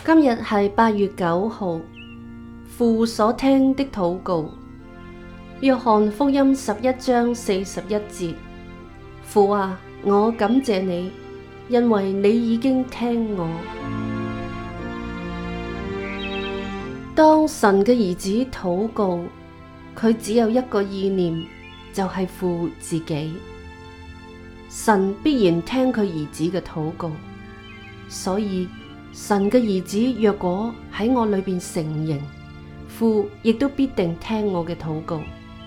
今日係8月9號，父所聽的禱告。約翰福音11章41節：父啊，我感謝你，因為你已經聽我。當神嘅兒子禱告，佢只有一個意念，就係父自己。神必然聽佢兒子嘅禱告，所以神嘅兒子若果喺我裏邊成形，父亦都必定聽我嘅禱告。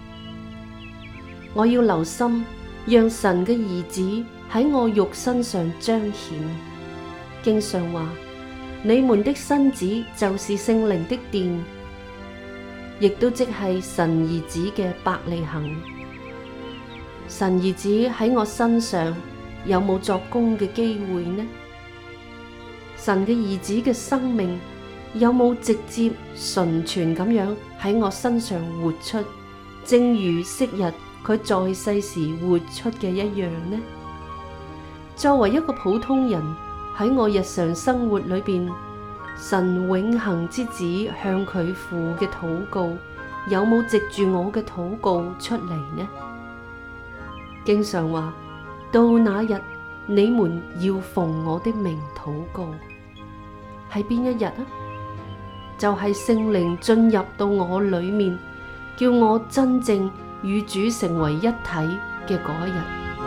我要留心，讓神嘅兒子喺我肉身上彰顯。經上話：你們的身子就是聖靈的殿，亦都即係神兒子嘅伯利恆。神兒子喺我身上有冇作工嘅機會呢？神嘅兒子嘅生命有冇直接純全咁樣喺我身上活出，正如昔日佢在世時活出嘅一樣呢？作為一個普通人，喺我日常生活裏邊，神永恆之子向佢父嘅禱告，有冇藉住我嘅禱告出嚟呢？經常話：到那日，你們要奉我的名禱告。係邊一日啊？就係聖靈進入到我裏面，叫我真正與主成為一體嘅嗰一日。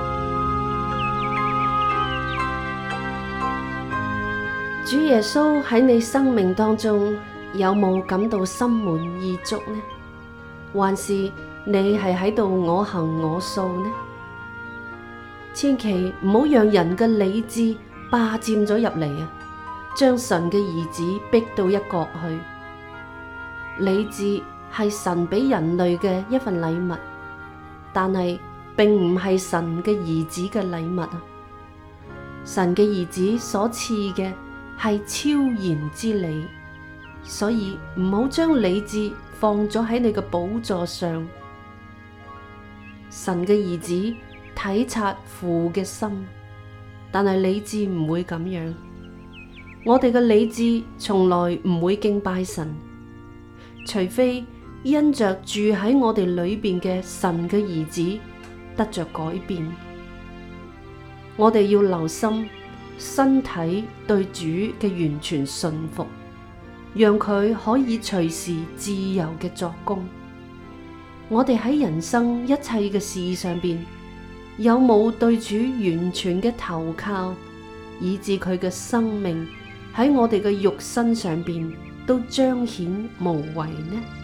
主耶穌喺你生命當中有冇感到心滿意足呢？還是你係喺度我行我素呢？千祈唔好讓人嘅理智霸佔咗入嚟啊！將神嘅兒子逼到一角去。理智係神俾人類嘅一份禮物，但係並唔係神嘅兒子嘅禮物啊！神嘅兒子所賜嘅係超然之理，所以唔好將理智放咗喺你嘅寶座上。神嘅兒子體察父嘅心，但係理智唔會咁樣。我哋嘅理智從來唔會敬拜神，除非因着住喺我哋裏邊嘅神嘅兒子得着改變。我哋要留心身體對主嘅完全順服，讓佢可以隨時自由嘅作工。我哋喺人生一切嘅事上邊，有冇對主完全嘅投靠，以致佢嘅生命喺我哋嘅肉身上邊都彰顯無遺呢？